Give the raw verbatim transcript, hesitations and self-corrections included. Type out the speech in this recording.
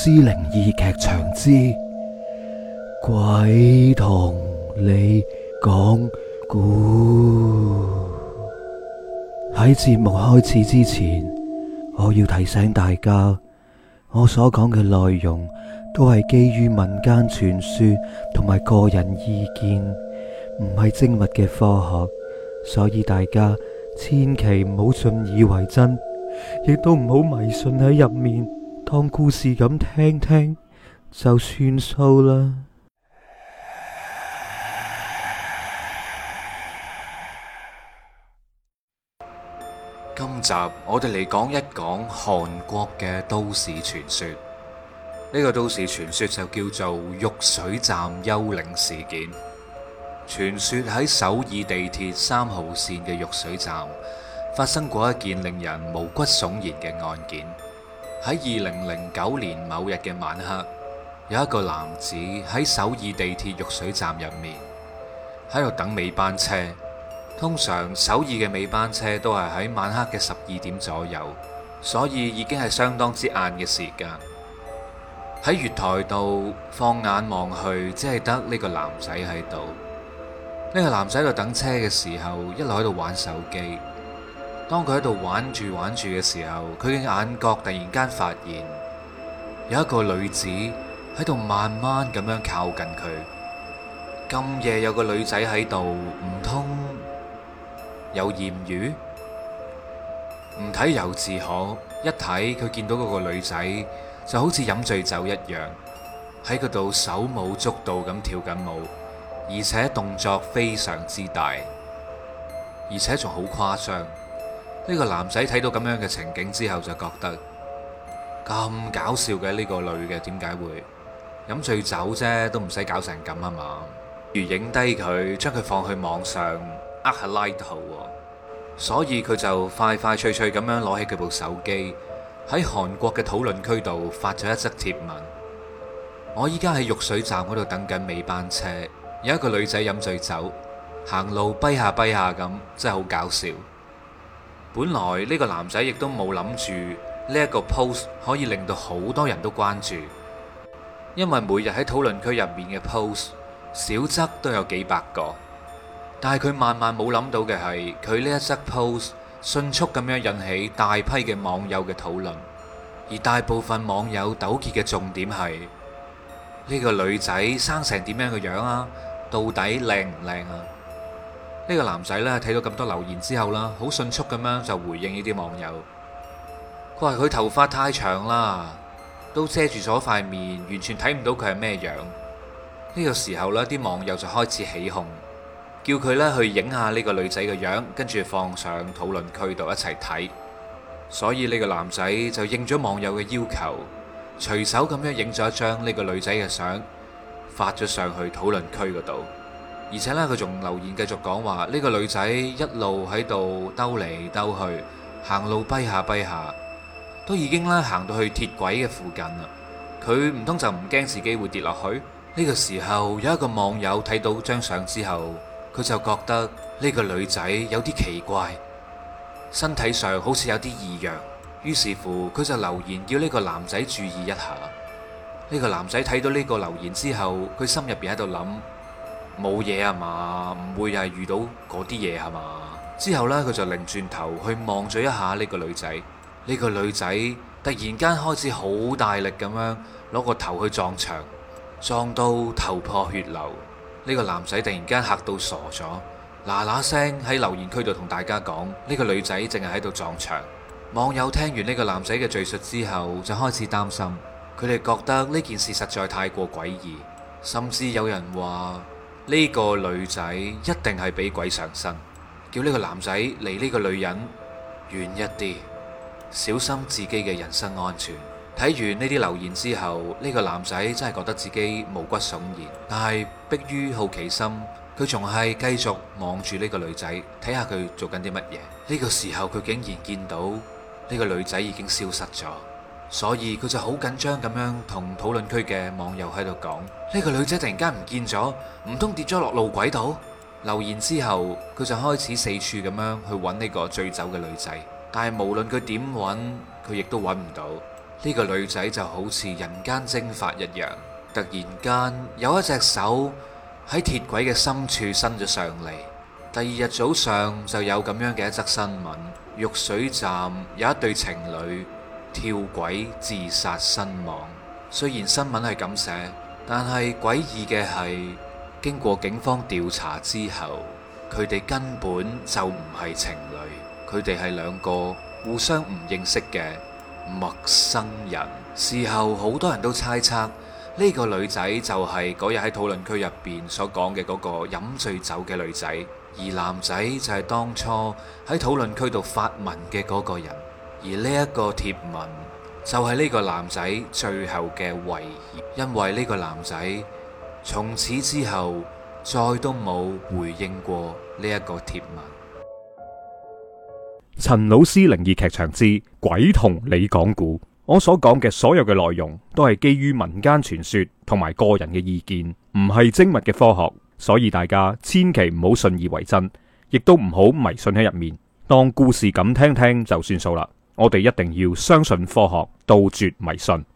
屍靈異劇場之鬼同你講故。喺節目開始之前，我要提醒大家，我所講嘅內容都係基於民間傳說同埋個人意見，唔係精密嘅科學，所以大家千祈唔好信以為真，亦都唔好迷信喺入面，當故事咁聽聽就算數啦。 今集我哋嚟講一講韓國嘅都市傳說。呢個都市傳說就叫做玉水站幽靈事件。傳說喺首爾地鐵三號線嘅玉水站發生過一件令人毛骨悚然嘅案件。喺二零零九年某日嘅晚黑，有一個男子喺首爾地鐵玉水站入面喺度等尾班車。通常首爾嘅尾班車都係喺晚黑嘅十二點左右，所以已經係相當之晏嘅時間。喺月台度放眼望去，只係得呢個男仔喺度。呢個男仔喺度等車嘅時候，一路喺度玩手機。當佢喺度玩住玩住嘅時候，佢嘅眼角突然間發現有一個女子喺度慢慢咁樣靠近佢。咁夜有個女仔喺度，唔通有艷遇？唔睇由自可，一睇佢見到嗰個女仔就好似飲醉酒一樣，喺嗰度手舞足蹈咁跳緊舞，而且動作非常之大，而且仲好誇張。呢個男仔睇到咁樣嘅情景之後就覺得咁搞笑嘅，呢個女嘅點解會飲醉酒啫，都唔使搞成咁啊嘛？如影低佢，將佢放去網上呃下 like 好，所以佢就快快脆脆咁樣攞起佢部手機，喺韓國嘅討論區度發咗一則貼文。我依家喺玉水站嗰度等緊尾班車，有一個女仔飲醉酒行路跛下跛下咁，真係好搞笑。本來呢個男仔亦都冇諗住呢一個 post 可以令到好多人都關注，因為每日喺討論區入面嘅 post 少則都有幾百個。但係佢萬萬冇諗到嘅係，佢呢一則 post 迅速咁樣引起大批嘅網友嘅討論，而大部分網友糾結嘅重點係呢個女仔生成點樣嘅樣啊，到底靚唔靚啊？呢個男仔咧睇到咁多留言之後啦，好迅速咁樣就回應呢啲網友。佢話佢頭髮太長啦，都遮住咗塊面，完全睇唔到佢係咩樣。呢個時候呢，啲網友就開始起哄，叫佢咧去影下呢個女仔嘅樣，跟住放上討論區度一齊睇。所以呢個男仔就應咗網友嘅要求，隨手咁樣影咗一張呢個女仔嘅相，發咗上去討論區嗰度。而且呢，佢仲留言繼續講話，呢個女仔一路喺度兜嚟兜去，行路跛下跛下，都已經咧行到去鐵軌嘅附近啦。佢唔通就唔驚自己會跌落去？呢個時候有一個網友睇到張相之後，佢就覺得呢個女仔有啲奇怪，身體上好似有啲異樣。於是乎佢就留言叫呢個男仔注意一下。呢個男仔睇到呢個留言之後，佢心入邊喺度諗，冇嘢啊嘛，唔會又係遇到嗰啲嘢係嘛？之後呢，佢就擰轉頭去望咗一下呢個女仔。呢個女仔突然間開始好大力咁樣攞個頭去撞牆，撞到頭破血流。呢個男仔突然間嚇到傻咗，嗱嗱聲喺留言區度同大家講，呢個女仔淨係喺度撞牆。網友聽完呢個男仔嘅敘述之後，就開始擔心，佢哋覺得呢件事實在太過詭異，甚至有人話呢個女仔一定係俾鬼上身，叫呢個男仔離呢個女人遠一啲，小心自己嘅人身安全。睇完呢啲留言之後，呢個男仔真係覺得自己毛骨悚然，但係迫於好奇心，佢仲係繼續望住呢個女仔，睇下佢做緊啲乜嘢。呢個時候佢竟然見到呢個女仔已經消失咗，所以佢就好緊張咁樣同討論區嘅網友喺度講，呢個女仔突然間唔見咗，唔通跌咗落路軌度？留言之後，佢就開始四處咁樣去揾呢個醉酒嘅女仔，但係無論佢點揾，佢亦都揾唔到。 呢個女仔就好似人間蒸發一樣，突然間有一隻手喺鐵軌嘅深處伸咗上嚟。第二日早上就有咁樣嘅一則新聞：玉水站有一對情侶跳軌自殺身亡。雖然新聞係咁寫，但係詭異嘅係，經過警方調查之後，佢哋根本就唔係情侶，佢哋係兩個互相唔認識嘅陌生人。事後好多人都猜測呢個女仔就係嗰日喺討論區入邊所講嘅嗰個飲醉酒嘅女仔，而男仔就係當初喺討論區度發文嘅嗰個人。而呢一個貼文就係呢個男仔最後嘅遺言，因為呢個男仔從此之後再都冇回應過呢一個貼文。 陳老師靈異劇場之鬼同你講故，我所講嘅所有嘅內容都係基於民間傳說同埋個人嘅意見，唔係精密嘅科學，所以大家千祈唔好信以為真，亦都唔好迷信喺入面，當故事咁聽聽就算數啦。我哋一定要相信科學，杜絕迷信。